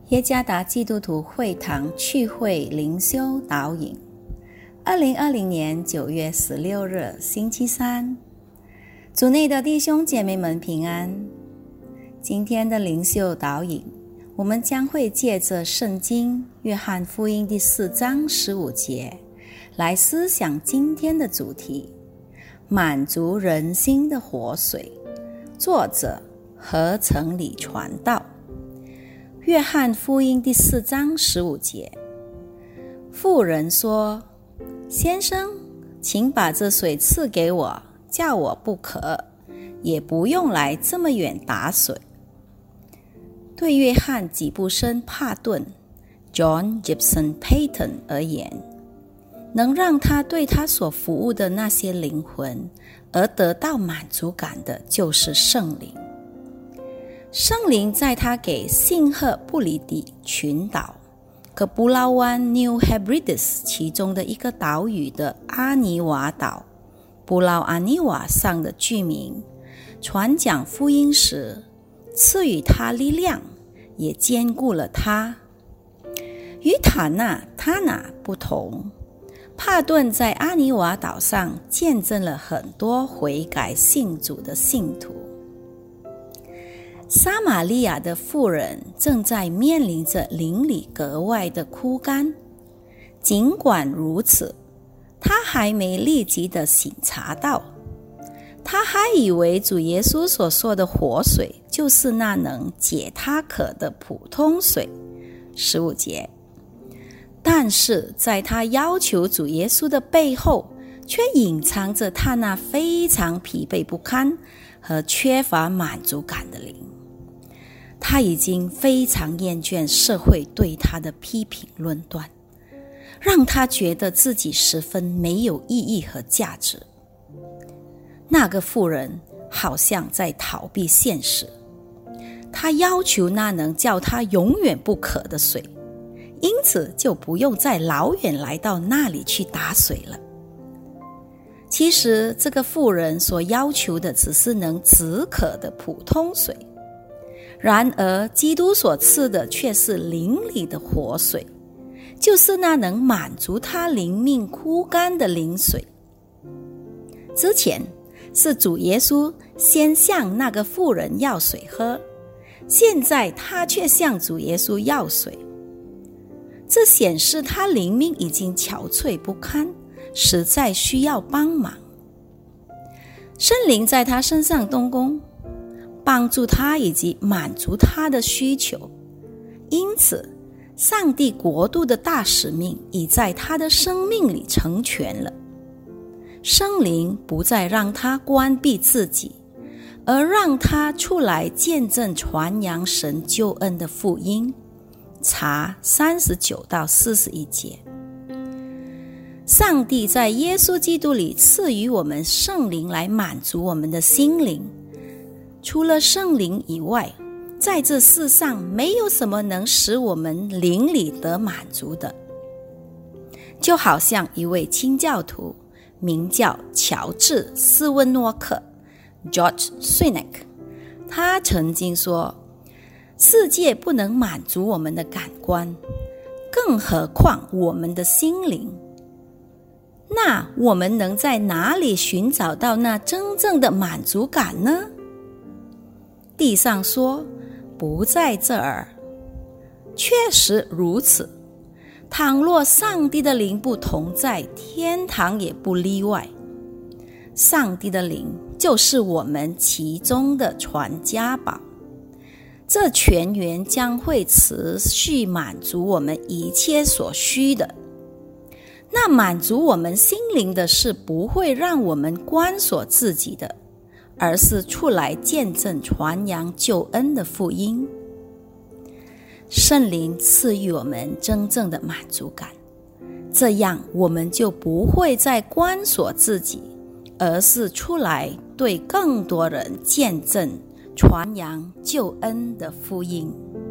耶加达基督徒会堂聚会灵修导引2020年9月16日星期三，主内的弟兄姐妹们平安。今天的灵修导引，我们将会借着圣经约翰福音第4章15节来思想今天的主题，满足人心的活水。作者何成礼传道。约翰福音第4章15节，妇人说：先生，请把这水赐给我，叫我不渴，也不用来这么远打水。对约翰吉布森帕顿 John Gibson Paton 而言，能让他对他所服务的那些灵魂而得到满足感的，就是圣灵。圣灵在他给信赫布里底群岛可布劳湾 New Hebrides 其中的一个岛屿的阿尼瓦岛布劳阿尼瓦上的居民传讲福音时，赐予他力量，也坚固了他。与塔纳不同，帕顿在阿尼瓦岛上见证了很多悔改信主的信徒。撒玛利亚的妇人正在面临着邻里格外的枯干，尽管如此，她还没立即的省察到，她还以为主耶稣所说的活水就是那能解她渴的普通水。15节，但是在她要求主耶稣的背后，却隐藏着她那非常疲惫不堪和缺乏满足感的灵。他已经非常厌倦社会对他的批评论断，让他觉得自己十分没有意义和价值。那个妇人好像在逃避现实，他要求那能叫他永远不渴的水，因此就不用再老远来到那里去打水了。其实这个妇人所要求的只是能止渴的普通水，然而基督所赐的却是灵里的活水，就是那能满足他灵命枯干的灵水。之前是主耶稣先向那个妇人要水喝，现在他却向主耶稣要水，这显示他灵命已经憔悴不堪，实在需要帮忙。圣灵在他身上动工，帮助他以及满足他的需求，因此上帝国度的大使命已在他的生命里成全了。圣灵不再让他关闭自己，而让他出来见证传扬神救恩的福音。查39到41节。上帝在耶稣基督里赐予我们圣灵来满足我们的心灵。除了圣灵以外，在这世上没有什么能使我们灵里得满足的。就好像一位清教徒名叫乔治·斯温诺克 George Swinnock， 他曾经说，世界不能满足我们的感官，更何况我们的心灵。那我们能在哪里寻找到那真正的满足感呢？地上说不在这儿，确实如此。倘若上帝的灵不同在，天堂也不例外。上帝的灵就是我们其中的传家宝，这泉源将会持续满足我们一切所需的。那满足我们心灵的是不会让我们关锁自己的，而是出来见证传扬救恩的福音。圣灵赐予我们真正的满足感，这样我们就不会再关锁自己，而是出来对更多人见证传扬救恩的福音。